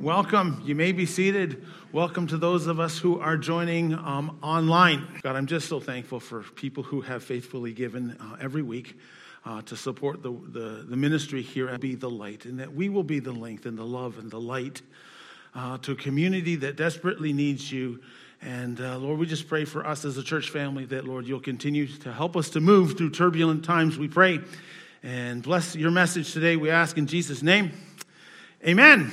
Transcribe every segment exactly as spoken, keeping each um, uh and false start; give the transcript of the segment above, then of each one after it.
Welcome. You may be seated. Welcome to those of us who are joining um, online. God, I'm just so thankful for people who have faithfully given uh, every week uh, to support the, the, the ministry here and be the light, and that we will be the length and the love and the light uh, to a community that desperately needs you. And uh, Lord, we just pray for us as a church family that, Lord, you'll continue to help us to move through turbulent times, we pray. And bless your message today, we ask in Jesus' name. Amen.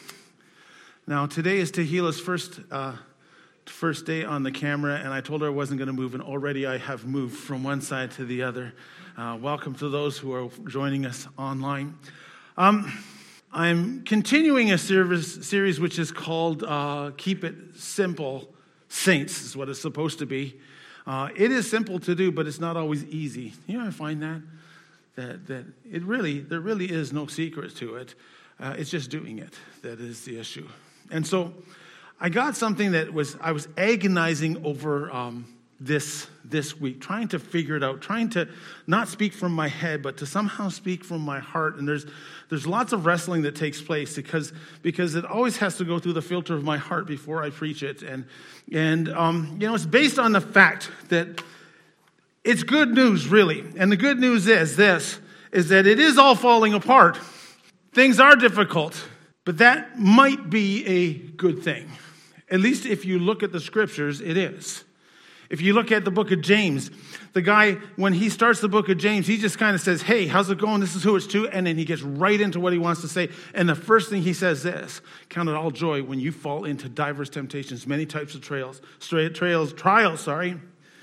Now, today is Tehila's first uh, first day on the camera, and I told her I wasn't going to move, and already I have moved from one side to the other. Uh, welcome to those who are joining us online. Um, I'm continuing a service, series which is called uh, Keep It Simple, Saints, is what it's supposed to be. Uh, it is simple to do, but it's not always easy. You know, I find that, that, that it really, there really is no secret to it. Uh, it's just doing it that is the issue. And so I got something that was, I was agonizing over um, this this week, trying to figure it out, trying to not speak from my head, but to somehow speak from my heart. And there's there's lots of wrestling that takes place because because it always has to go through the filter of my heart before I preach it. And, and um, you know, it's based on the fact that it's good news, really. And the good news is this, is that it is all falling apart. Things are difficult, but that might be a good thing. At least if you look at the scriptures, it is. If you look at the book of James, the guy, when he starts the book of James, he just kind of says, hey, how's it going? This is who it's to. And then he gets right into what he wants to say. And the first thing he says is, count it all joy when you fall into diverse temptations, many types of trails, straight trails, trials, sorry.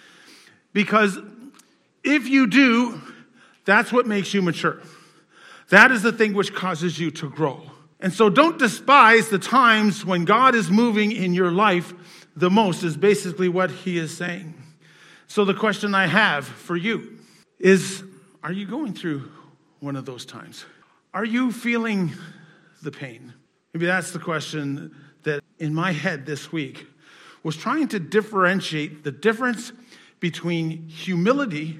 Because if you do, that's what makes you mature. That is the thing which causes you to grow. And so don't despise the times when God is moving in your life the most, is basically what he is saying. So the question I have for you is, are you going through one of those times? Are you feeling the pain? Maybe that's the question that in my head this week was trying to differentiate the difference between humility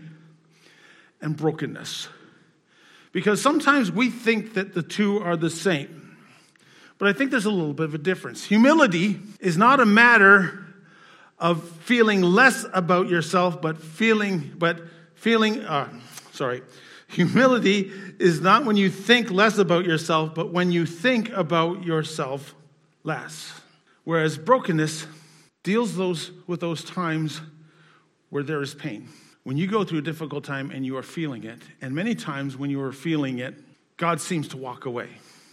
and brokenness. Because sometimes we think that the two are the same. But I think there's a little bit of a difference. Humility is not a matter of feeling less about yourself, but feeling, but feeling, uh, sorry. Humility is not when you think less about yourself, but when you think about yourself less. Whereas brokenness deals those with those times where there is pain. When you go through a difficult time and you are feeling it, and many times when you are feeling it, God seems to walk away.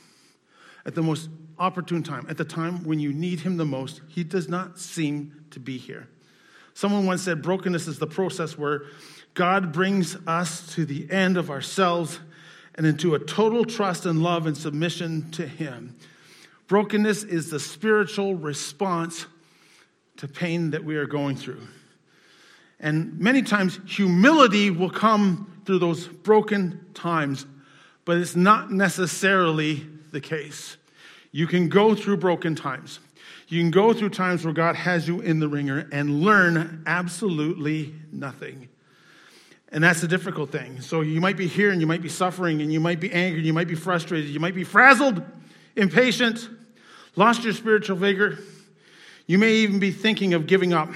At the most opportune time, at the time when you need him the most, he does not seem to be here. Someone once said brokenness is the process where God brings us to the end of ourselves and into a total trust and love and submission to him. Brokenness is the spiritual response to pain that we are going through. And many times, humility will come through those broken times, but it's not necessarily the case. You can go through broken times. You can go through times where God has you in the ringer and learn absolutely nothing. And that's the difficult thing. So you might be here and you might be suffering and you might be angry, you might be frustrated, you might be frazzled, impatient, lost your spiritual vigor. You may even be thinking of giving up.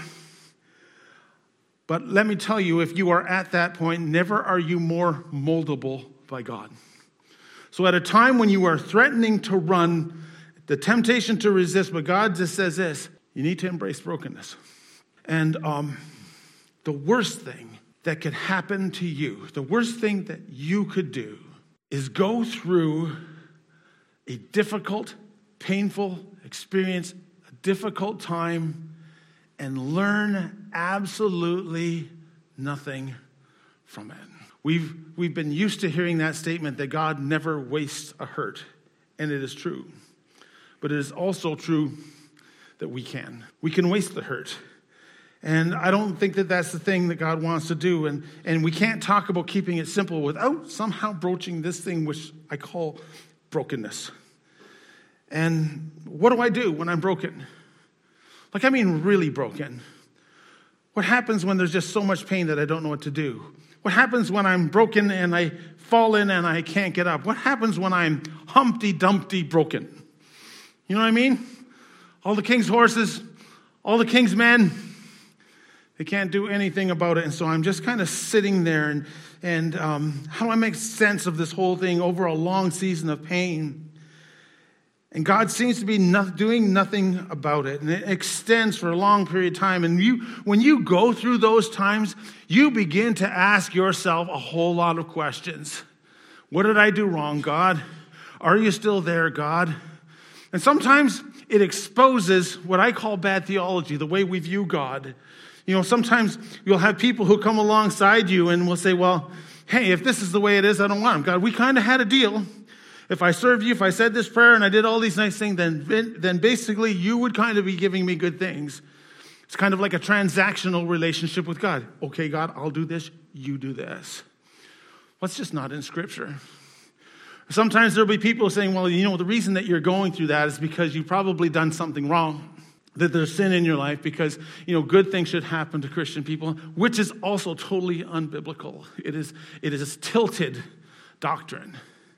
But let me tell you, if you are at that point, never are you more moldable by God. So at a time when you are threatening to run, the temptation to resist, but God just says this, you need to embrace brokenness. And um, the worst thing that could happen to you, the worst thing that you could do is go through a difficult, painful experience, a difficult time, and learn absolutely nothing from it. We've, we've been used to hearing that statement that God never wastes a hurt, and it is true. But it is also true that we can. We can waste the hurt. And I don't think that that's the thing that God wants to do. And, and we can't talk about keeping it simple without somehow broaching this thing which I call brokenness. And what do I do when I'm broken? Like, I mean really broken. What happens when there's just so much pain that I don't know what to do? What happens when I'm broken and I fall in and I can't get up? What happens when I'm Humpty Dumpty broken? You know what I mean? All the king's horses, all the king's men, they can't do anything about it. And so I'm just kind of sitting there and, and um, how do I make sense of this whole thing over a long season of pain? And God seems to be not, doing nothing about it. And it extends for a long period of time. And you, when you go through those times, you begin to ask yourself a whole lot of questions. What did I do wrong, God? Are you still there, God? And sometimes it exposes what I call bad theology, the way we view God. You know, sometimes you'll have people who come alongside you and will say, well, hey, if this is the way it is, I don't want him. God, we kind of had a deal. If I served you, if I said this prayer and I did all these nice things, then, then basically you would kind of be giving me good things. It's kind of like a transactional relationship with God. Okay, God, I'll do this, you do this. Well, it's just not in Scripture. Sometimes there'll be people saying, well, you know, the reason that you're going through that is because you've probably done something wrong. That there's sin in your life because, you know, good things should happen to Christian people, which is also totally unbiblical. It is, it is a tilted doctrine.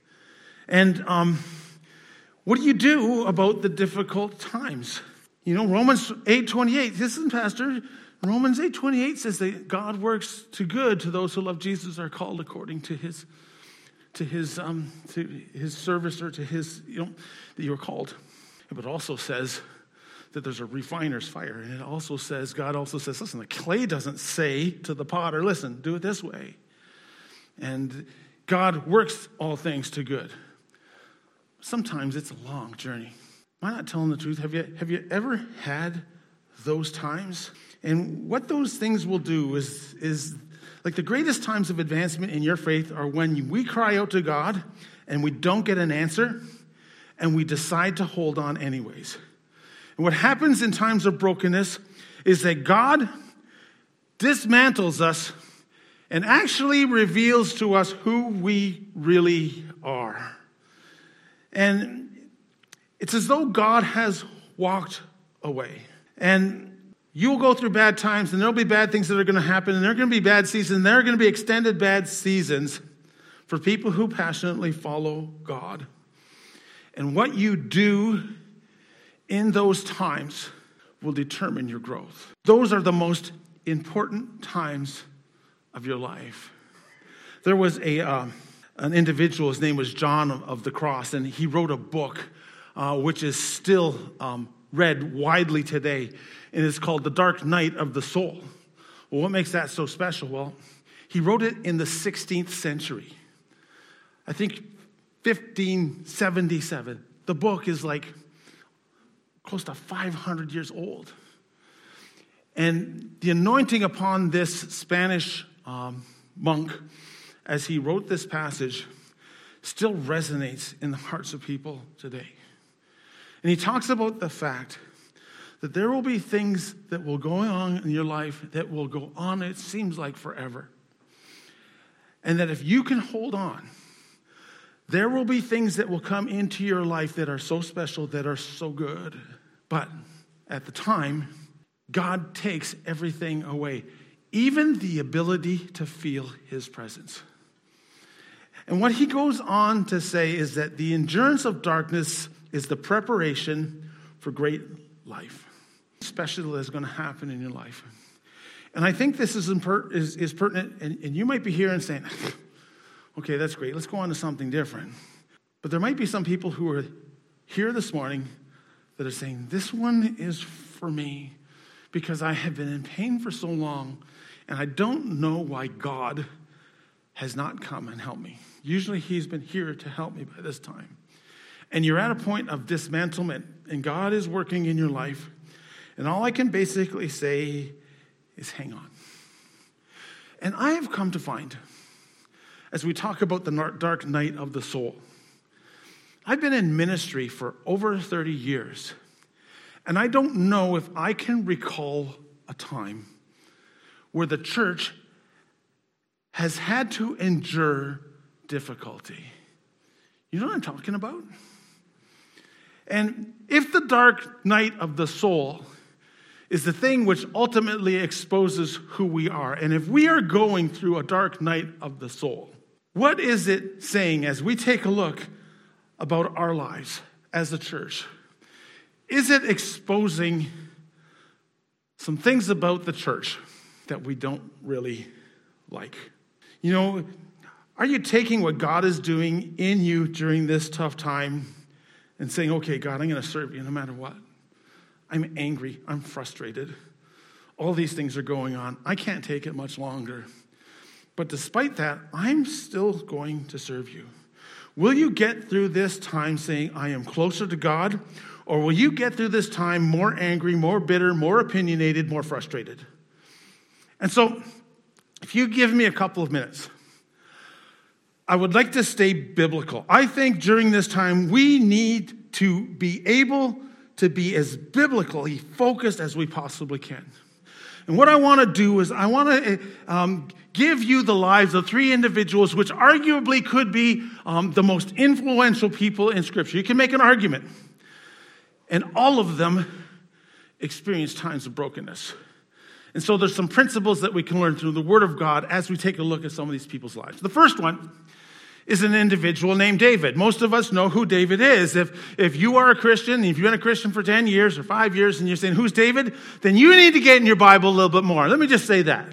And um, what do you do about the difficult times? You know, Romans eight twenty-eight, listen, Pastor, Romans eight twenty-eight says that God works to good to those who love Jesus are called according to his, to his, um, to his service or to his, you know, that you were called. But it also says that there's a refiner's fire. And it also says, God also says, listen, the clay doesn't say to the potter, listen, do it this way. And God works all things to good. Sometimes it's a long journey. Am I not telling the truth? Have you, have you ever had those times? And what those things will do is, is like the greatest times of advancement in your faith are when we cry out to God and we don't get an answer and we decide to hold on anyways. And what happens in times of brokenness is that God dismantles us and actually reveals to us who we really are. And it's as though God has walked away. And you'll go through bad times, and there'll be bad things that are going to happen, and there are going to be bad seasons, and there are going to be extended bad seasons for people who passionately follow God. And what you do in those times will determine your growth. Those are the most important times of your life. There was a uh, an individual, his name was John of the Cross, and he wrote a book uh, which is still um, read widely today, and it's called The Dark Night of the Soul. Well, what makes that so special? Well, he wrote it in the sixteenth century. I think fifteen seventy-seven. The book is like close to five hundred years old. And the anointing upon this Spanish um, monk, as he wrote this passage, still resonates in the hearts of people today. And he talks about the fact that there will be things that will go on in your life that will go on, it seems like forever. And that if you can hold on, there will be things that will come into your life that are so special, that are so good. But at the time, God takes everything away, even the ability to feel his presence. And what he goes on to say is that the endurance of darkness is the preparation for great life. Special that's going to happen in your life. And I think this is, imper- is, is pertinent, and, and you might be here and saying, okay, that's great, let's go on to something different. But there might be some people who are here this morning that are saying, this one is for me because I have been in pain for so long and I don't know why God has not come and helped me. Usually he's been here to help me by this time. And you're at a point of dismantlement and God is working in your life. And all I can basically say is hang on. And I have come to find, as we talk about the dark night of the soul, I've been in ministry for over thirty years, and I don't know if I can recall a time where the church has had to endure difficulty. You know what I'm talking about? And if the dark night of the soul is the thing which ultimately exposes who we are, and if we are going through a dark night of the soul, what is it saying as we take a look about our lives as a church? Is it exposing some things about the church that we don't really like? You know, are you taking what God is doing in you during this tough time and saying, okay, God, I'm going to serve you no matter what. I'm angry. I'm frustrated. All these things are going on. I can't take it much longer. But despite that, I'm still going to serve you. Will you get through this time saying, I am closer to God? Or will you get through this time more angry, more bitter, more opinionated, more frustrated? And so, if you give me a couple of minutes, I would like to stay biblical. I think during this time, we need to be able to be as biblically focused as we possibly can. And what I want to do is I want to um, give you the lives of three individuals which arguably could be um, the most influential people in Scripture. You can make an argument. And all of them experienced times of brokenness. And so there's some principles that we can learn through the Word of God as we take a look at some of these people's lives. The first one is an individual named David. Most of us know who David is. If, if you are a Christian, if you've been a Christian for ten years or five years and you're saying, who's David? Then you need to get in your Bible a little bit more. Let me just say that.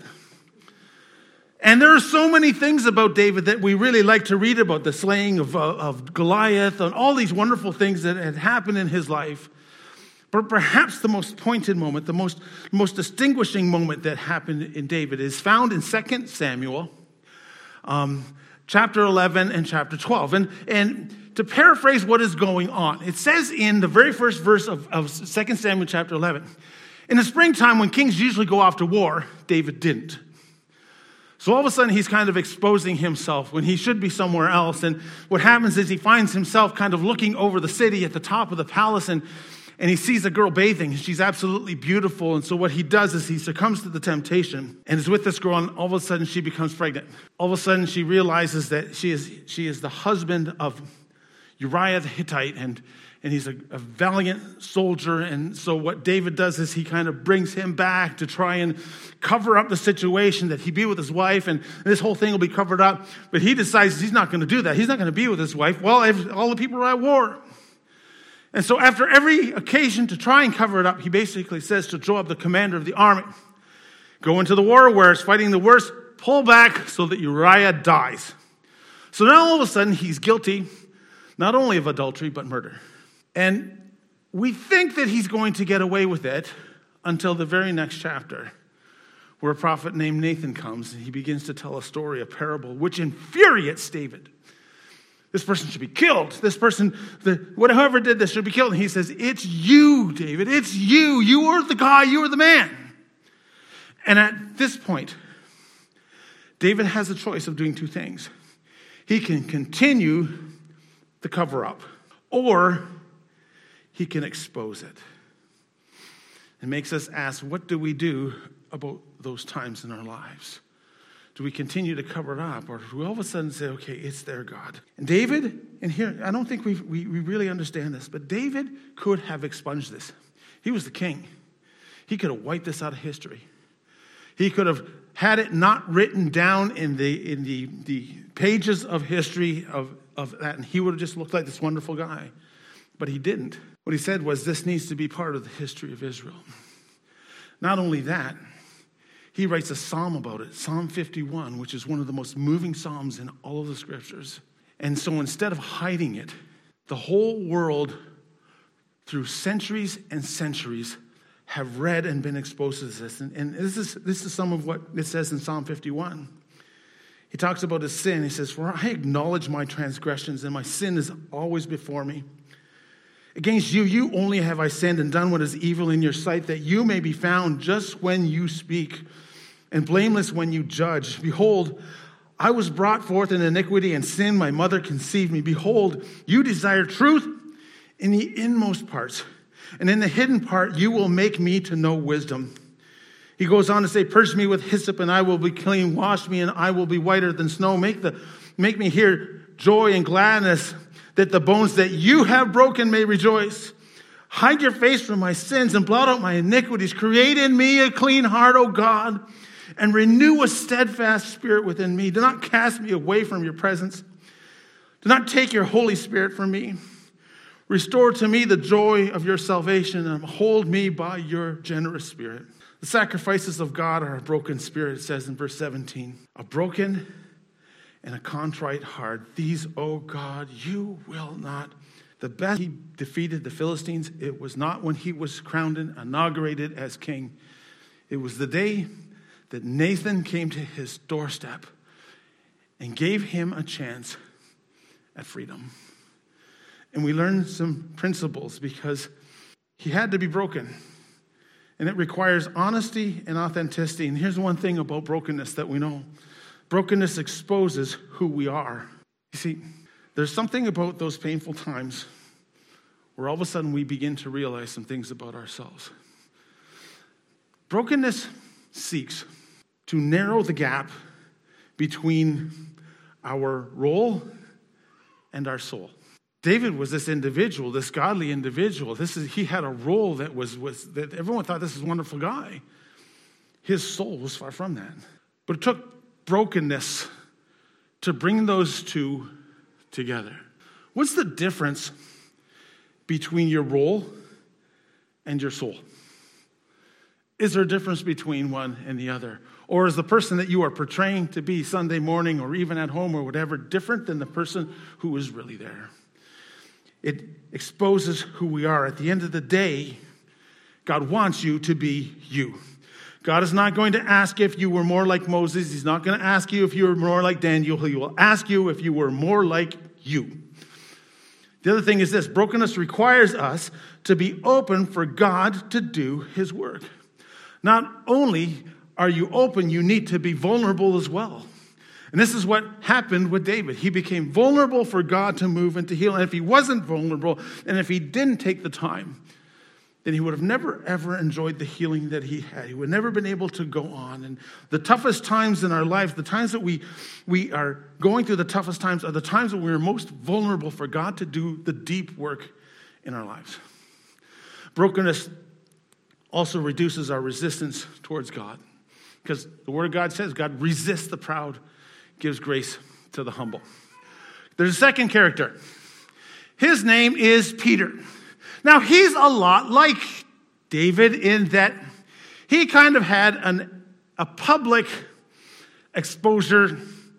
And there are so many things about David that we really like to read about. The slaying of, uh, of Goliath and all these wonderful things that had happened in his life. But perhaps the most pointed moment, the most, most distinguishing moment that happened in David is found in Second Samuel, um, chapter eleven and chapter twelve. And, and to paraphrase what is going on, it says in the very first verse of, of Second Samuel chapter eleven, in the springtime when kings usually go off to war, David didn't. So all of a sudden he's kind of exposing himself when he should be somewhere else. And what happens is he finds himself kind of looking over the city at the top of the palace, and And he sees a girl bathing. She's absolutely beautiful. And so what he does is he succumbs to the temptation and is with this girl, and all of a sudden she becomes pregnant. All of a sudden she realizes that she is she is the husband of Uriah the Hittite, and, and he's a, a valiant soldier. And so what David does is he kind of brings him back to try and cover up the situation, that he be with his wife, and this whole thing will be covered up. But he decides he's not going to do that. He's not going to be with his wife. Well, all the people are at war. And so after every occasion to try and cover it up, he basically says to Joab, the commander of the army, go into the war where it's fighting the worst, pull back so that Uriah dies. So now all of a sudden he's guilty, not only of adultery, but murder. And we think that he's going to get away with it until the very next chapter, where a prophet named Nathan comes and he begins to tell a story, a parable, which infuriates David. This person should be killed. This person, the, whatever did this should be killed. And he says, it's you, David. It's you. You are the guy. You are the man. And at this point, David has a choice of doing two things. He can continue the cover-up, or he can expose it. It makes us ask, what do we do about those times in our lives? Do we continue to cover it up, or do we all of a sudden say, okay, it's there, God? And David, and here, I don't think we we we really understand this, but David could have expunged this. He was the king. He could have wiped this out of history. He could have had it not written down in the in the, the pages of history of, of that, and he would have just looked like this wonderful guy. But he didn't. What he said was, this needs to be part of the history of Israel. Not only that, he writes a psalm about it, Psalm fifty-one, which is one of the most moving psalms in all of the scriptures. And so instead of hiding it, the whole world, through centuries and centuries, have read and been exposed to this. And, and this is this is some of what it says in Psalm fifty-one. He talks about his sin. He says, for I acknowledge my transgressions, and my sin is always before me. Against you, you only have I sinned and done what is evil in your sight, that you may be found just when you speak, and blameless when you judge. Behold, I was brought forth in iniquity, and sin my mother conceived me. Behold, you desire truth in the inmost parts, and in the hidden part you will make me to know wisdom. He goes on to say, purge me with hyssop, and I will be clean. Wash me, and I will be whiter than snow. Make the make me hear joy and gladness, that the bones that you have broken may rejoice. Hide your face from my sins and blot out my iniquities. Create in me a clean heart, O God, and renew a steadfast spirit within me. Do not cast me away from your presence. Do not take your Holy Spirit from me. Restore to me the joy of your salvation and hold me by your generous spirit. The sacrifices of God are a broken spirit, it says in verse seventeen. A broken and a contrite heart. These, O God, you will not. The best he defeated the Philistines, it was not when he was crowned and inaugurated as king. It was the day that Nathan came to his doorstep and gave him a chance at freedom. And we learned some principles because he had to be broken. And it requires honesty and authenticity. And here's one thing about brokenness that we know. Brokenness exposes who we are. You see, there's something about those painful times where all of a sudden we begin to realize some things about ourselves. Brokenness seeks to narrow the gap between our role and our soul. David was this individual, this godly individual. This is he had a role that was, was that everyone thought this is a wonderful guy. His soul was far from that. But it took brokenness to bring those two together. What's the difference between your role and your soul? Is there a difference between one and the other? Or is the person that you are portraying to be Sunday morning or even at home or whatever different than the person who is really there? It exposes who we are. At the end of the day, God wants you to be you. God is not going to ask if you were more like Moses. He's not going to ask you if you were more like Daniel. He will ask you if you were more like you. The other thing is this: brokenness requires us to be open for God to do his work. Not only are you open, you need to be vulnerable as well. And this is what happened with David. He became vulnerable for God to move and to heal. And if he wasn't vulnerable, and if he didn't take the time, then he would have never, ever enjoyed the healing that he had. He would have never been able to go on. And the toughest times in our lives, the times that we, we are going through the toughest times, are the times when we are most vulnerable for God to do the deep work in our lives. Brokenness also reduces our resistance towards God. Because the Word of God says God resists the proud, gives grace to the humble. There's a second character. His name is Peter. Now, he's a lot like David in that he kind of had an, a public exposure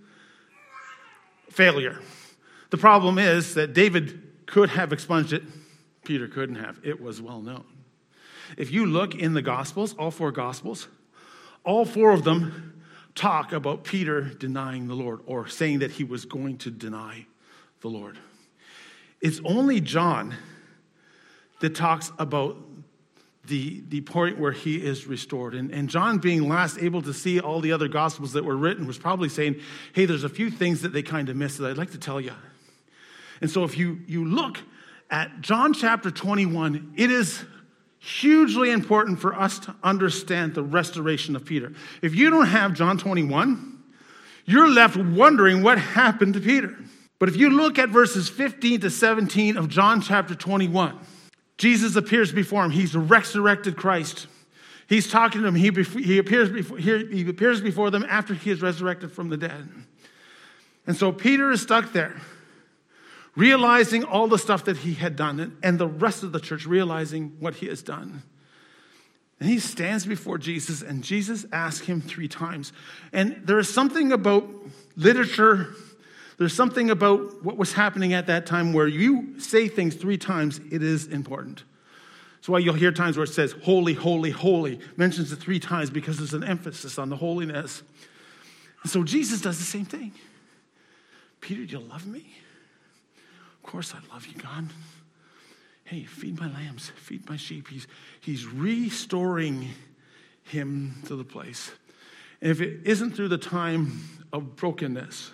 failure. The problem is that David could have expunged it. Peter couldn't have. It was well known. If you look in the Gospels, all four Gospels, all four of them talk about Peter denying the Lord or saying that he was going to deny the Lord. It's only John that talks about the, the point where he is restored. And, and John, being last able to see all the other Gospels that were written, was probably saying, hey, there's a few things that they kind of missed that I'd like to tell you. And so if you, you look at John chapter twenty-one, it is hugely important for us to understand the restoration of Peter. If you don't have John twenty-one, you're left wondering what happened to Peter. But if you look at verses fifteen to seventeen of John chapter twenty-one, Jesus appears before him. He's the resurrected Christ. He's talking to him. He, he, appears before, he appears before them after he is resurrected from the dead. And so Peter is stuck there, realizing all the stuff that he had done, and the rest of the church realizing what he has done. And he stands before Jesus, and Jesus asks him three times. And there is something about literature, there's something about what was happening at that time where you say things three times, it is important. That's why you'll hear times where it says, holy, holy, holy, mentions it three times because there's an emphasis on the holiness. And so Jesus does the same thing. Peter, do you love me? Of course I love you, God. Hey, feed my lambs, feed my sheep. He's, he's restoring him to the place. And if it isn't through the time of brokenness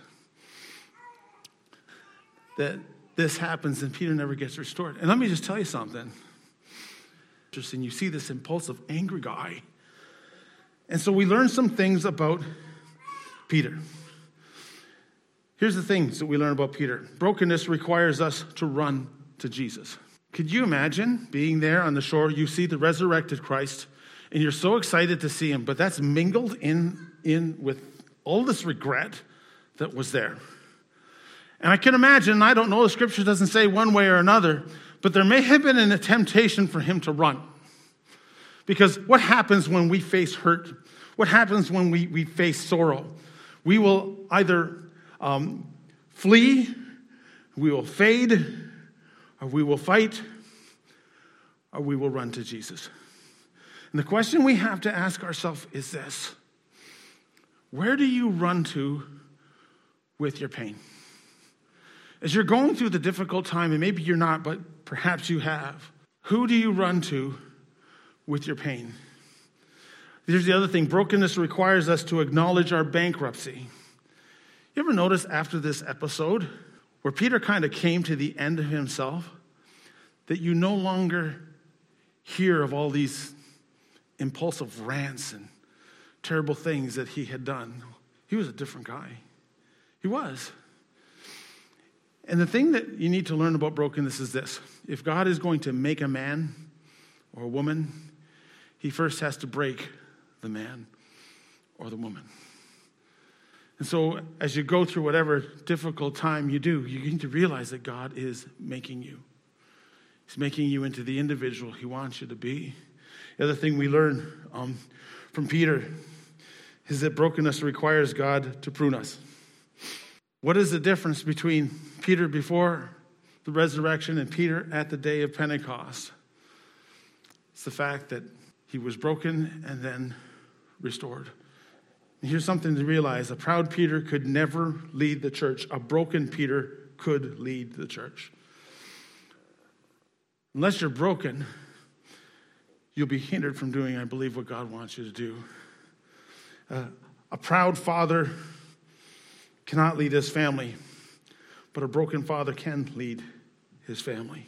that this happens, then Peter never gets restored. And let me just tell you something. Interesting, you see this impulsive, angry guy. And so we learn some things about Peter. Here's the things that we learn about Peter. Brokenness requires us to run to Jesus. Could you imagine being there on the shore? You see the resurrected Christ, and you're so excited to see him, but that's mingled in, in with all this regret that was there. And I can imagine, I don't know, the scripture doesn't say one way or another, But there may have been a temptation for him to run. Because what happens when we face hurt? What happens when we, we face sorrow? We will either um, flee, we will fade, or we will fight, or we will run to Jesus. And the question we have to ask ourselves is this: where do you run to with your pain? As you're going through the difficult time, and maybe you're not, but perhaps you have, who do you run to with your pain? Here's the other thing. Brokenness requires us to acknowledge our bankruptcy. You ever notice after this episode where Peter kind of came to the end of himself, that you no longer hear of all these impulsive rants and terrible things that he had done? He was a different guy. He was. And the thing that you need to learn about brokenness is this: if God is going to make a man or a woman, he first has to break the man or the woman. And so as you go through whatever difficult time you do, you need to realize that God is making you. He's making you into the individual he wants you to be. The other thing we learn um, from Peter is that brokenness requires God to prune us. What is the difference between Peter before the resurrection and Peter at the day of Pentecost? It's the fact that he was broken and then restored. And here's something to realize: a proud Peter could never lead the church. A broken Peter could lead the church. Unless you're broken, you'll be hindered from doing, I believe, what God wants you to do. Uh, a proud father cannot lead his family, but a broken father can lead his family.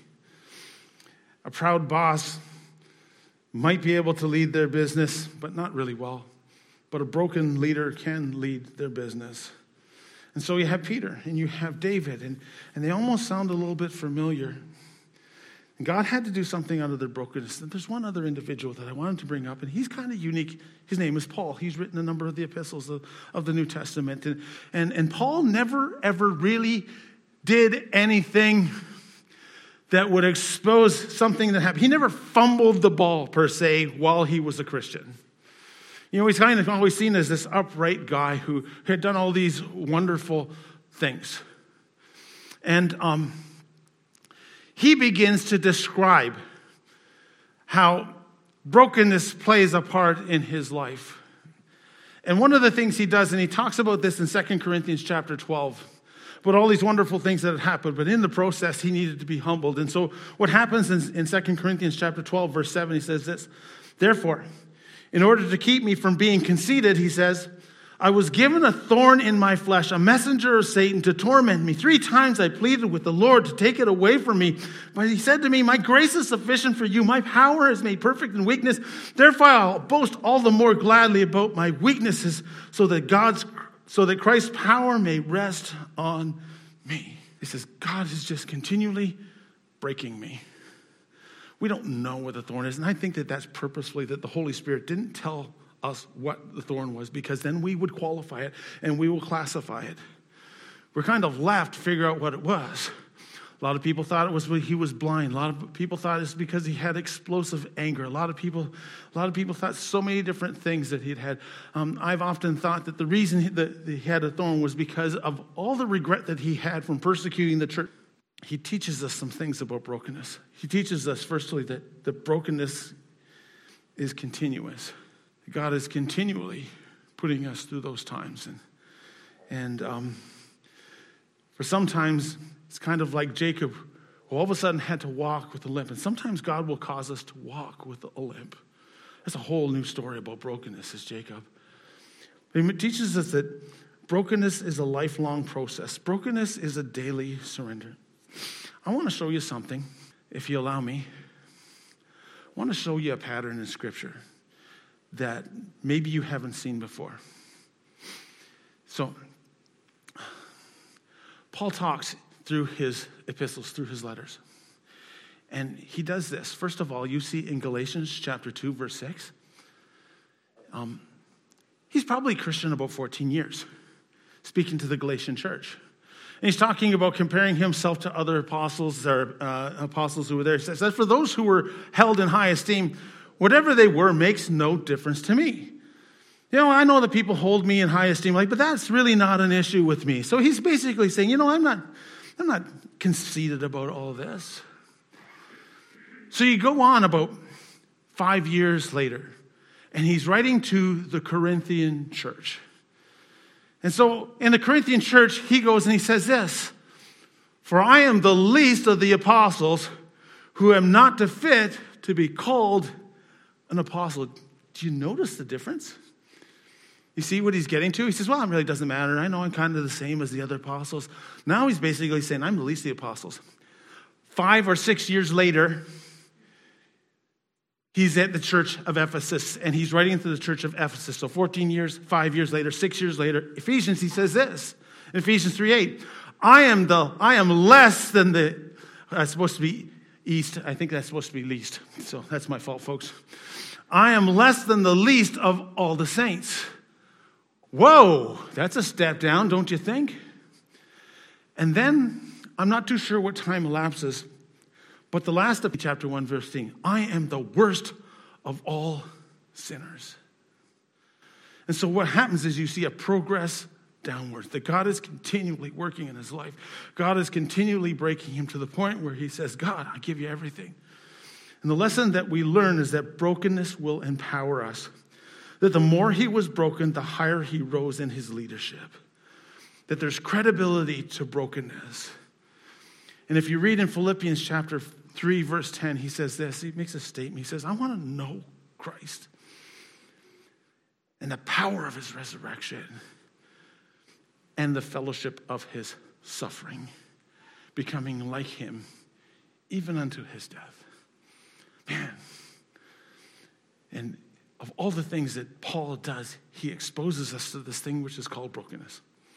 A proud boss might be able to lead their business, but not really well. But a broken leader can lead their business. And so you have Peter and you have David, and, and they almost sound a little bit familiar. And God had to do something out of their brokenness. And there's one other individual that I wanted to bring up, and he's kind of unique. His name is Paul. He's written a number of the epistles of, of the New Testament. And, and, and Paul never, ever really did anything that would expose something that happened. He never fumbled the ball, per se, while he was a Christian. You know, he's kind of always seen as this upright guy who had done all these wonderful things. And um, he begins to describe how brokenness plays a part in his life. And one of the things he does, and he talks about this in Second Corinthians chapter twelve, but all these wonderful things that had happened, but in the process, he needed to be humbled. And so what happens in, in Second Corinthians chapter twelve, verse seven, he says this: therefore, in order to keep me from being conceited, he says, I was given a thorn in my flesh, a messenger of Satan to torment me. Three times I pleaded with the Lord to take it away from me. But he said to me, my grace is sufficient for you. My power is made perfect in weakness. Therefore, I'll boast all the more gladly about my weaknesses, so that God's So that Christ's power may rest on me. He says, God is just continually breaking me. We don't know what the thorn is. And I think that that's purposefully, that the Holy Spirit didn't tell us what the thorn was, because then we would qualify it and we will classify it. We're kind of left to figure out what it was. A lot of people thought it was because he was blind. A lot of people thought it's because he had explosive anger. A lot of people, a lot of people thought so many different things that he'd had. Um, I've often thought that the reason that he had a thorn was because of all the regret that he had from persecuting the church. He teaches us some things about brokenness. He teaches us, firstly, that the brokenness is continuous. God is continually putting us through those times, and and um, for sometimes. It's kind of like Jacob, who all of a sudden had to walk with a limp. And sometimes God will cause us to walk with a limp. That's a whole new story about brokenness, is Jacob. He teaches us that brokenness is a lifelong process. Brokenness is a daily surrender. I want to show you something, if you allow me. I want to show you a pattern in Scripture that maybe you haven't seen before. So, Paul talks through his epistles, through his letters. And he does this. First of all, you see in Galatians chapter two, verse six, um, he's probably a Christian about fourteen years, speaking to the Galatian church. And he's talking about comparing himself to other apostles, or uh, apostles who were there. He says, for those who were held in high esteem, whatever they were makes no difference to me. You know, I know that people hold me in high esteem, like, but that's really not an issue with me. So he's basically saying, you know, I'm not, I'm not conceited about all this. So you go on about five years later, and he's writing to the Corinthian church. And so in the Corinthian church, he goes and he says this, for I am the least of the apostles who am not fit to be called an apostle. Do you notice the difference? You see what he's getting to? He says, well, it really doesn't matter. I know I'm kind of the same as the other apostles. Now he's basically saying, I'm the least of the apostles. Five or six years later, he's at the church of Ephesus, and he's writing to the church of Ephesus. So fourteen years, five years later, six years later, Ephesians, he says this, in Ephesians three eight, I am the, I am less than the, that's supposed to be east. I think that's supposed to be least. So that's my fault, folks. I am less than the least of all the saints. Whoa, that's a step down, don't you think? And then, I'm not too sure what time elapses, but the last of chapter one, verse fifteen, I am the worst of all sinners. And so what happens is you see a progress downwards, that God is continually working in his life. God is continually breaking him to the point where he says, God, I give you everything. And the lesson that we learn is that brokenness will empower us. That the more he was broken, the higher he rose in his leadership. That there's credibility to brokenness. And if you read in Philippians chapter three, verse ten, he says this. He makes a statement. He says, I want to know Christ and the power of his resurrection and the fellowship of his suffering, becoming like him even unto his death. Man. And of all the things that Paul does, he exposes us to this thing which is called brokenness.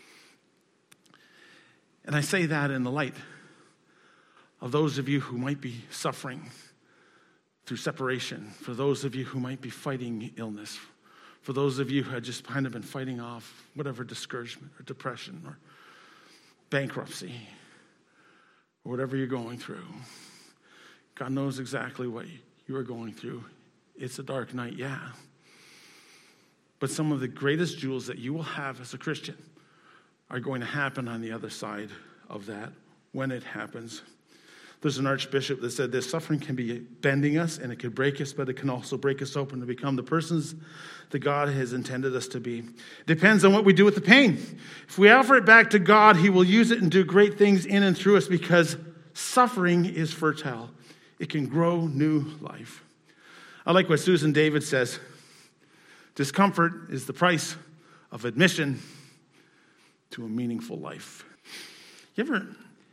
And I say that in the light of those of you who might be suffering through separation, for those of you who might be fighting illness, for those of you who had just kind of been fighting off whatever discouragement or depression or bankruptcy or whatever you're going through. God knows exactly what you are going through. It's a dark night, yeah. But some of the greatest jewels that you will have as a Christian are going to happen on the other side of that when it happens. There's an archbishop that said this, suffering can be bending us and it can break us, but it can also break us open to become the persons that God has intended us to be. It depends on what we do with the pain. If we offer it back to God, he will use it and do great things in and through us because suffering is fertile. It can grow new life. I like what Susan David says. Discomfort is the price of admission to a meaningful life. You ever,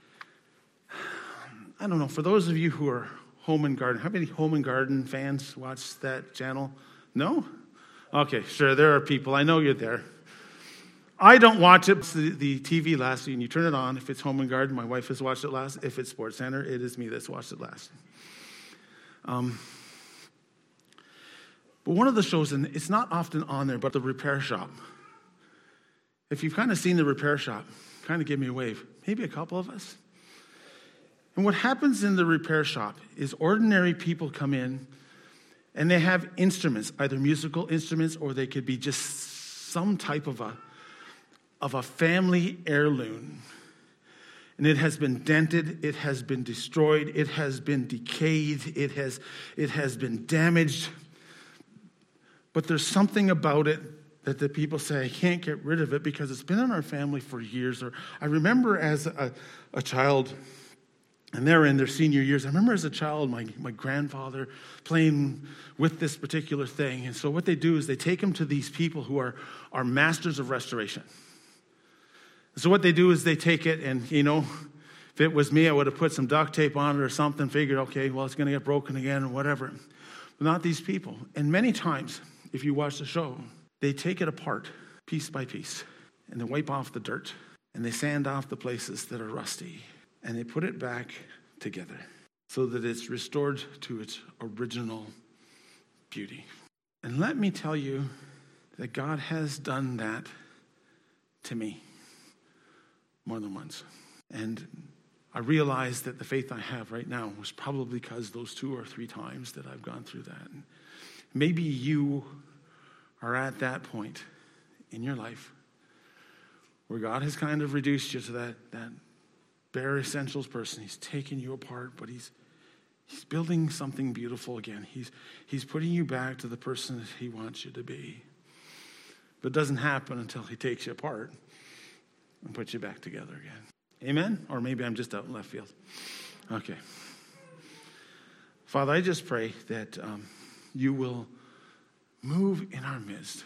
I don't know, for those of you who are Home and Garden, how many Home and Garden fans watch that channel? No? Okay, sure, there are people. I know you're there. I don't watch it. It's the, the T V last, and you turn it on. If it's Home and Garden, my wife has watched it last. If it's Sports Center, it is me that's watched it last. Um, but one of the shows, and it's not often on there, but The Repair Shop. If you've kind of seen The Repair Shop, kind of give me a wave. Maybe a couple of us. And what happens in The Repair Shop is ordinary people come in and they have instruments, either musical instruments or they could be just some type of a, of a family heirloom. And it has been dented, it has been destroyed, it has been decayed, it has, it has been damaged. But there's something about it that the people say, I can't get rid of it because it's been in our family for years. Or I remember as a, a child, and they're in their senior years, I remember as a child, my, my grandfather playing with this particular thing. And so what they do is they take them to these people who are, are masters of restoration. So what they do is they take it and, you know, if it was me, I would have put some duct tape on it or something, figured, okay, well, it's going to get broken again or whatever. But not these people. And many times, if you watch the show, they take it apart piece by piece and they wipe off the dirt and they sand off the places that are rusty and they put it back together so that it's restored to its original beauty. And let me tell you that God has done that to me more than once. And I realized that the faith I have right now was probably because those two or three times that I've gone through that. And maybe you are at that point in your life where God has kind of reduced you to that, that bare essentials person. He's taken you apart, but he's he's building something beautiful again. He's he's putting you back to the person that he wants you to be. But it doesn't happen until he takes you apart and puts you back together again. Amen? Or maybe I'm just out in left field. Okay. Father, I just pray that um, you will move in our midst.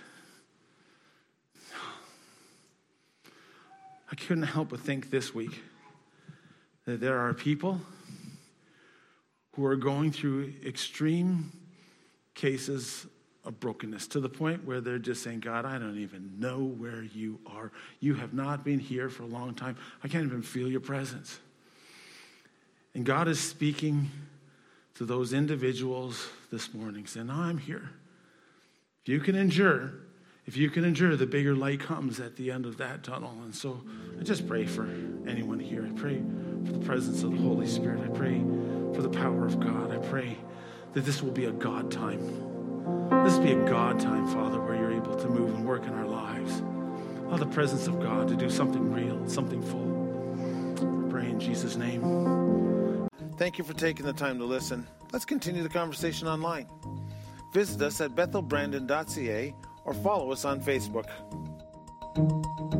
I couldn't help but think this week that there are people who are going through extreme cases of brokenness to the point where they're just saying, God, I don't even know where you are. You have not been here for a long time. I can't even feel your presence. And God is speaking to those individuals this morning, saying, I'm here. If you can endure, if you can endure, the bigger light comes at the end of that tunnel. And so I just pray for anyone here. I pray for the presence of the Holy Spirit. I pray for the power of God. I pray that this will be a God time. This will be a God time, Father, where you're able to move and work in our lives. Allow the presence of God to do something real, something full. I pray in Jesus' name. Thank you for taking the time to listen. Let's continue the conversation online. Visit us at bethel brandon dot c a or follow us on Facebook.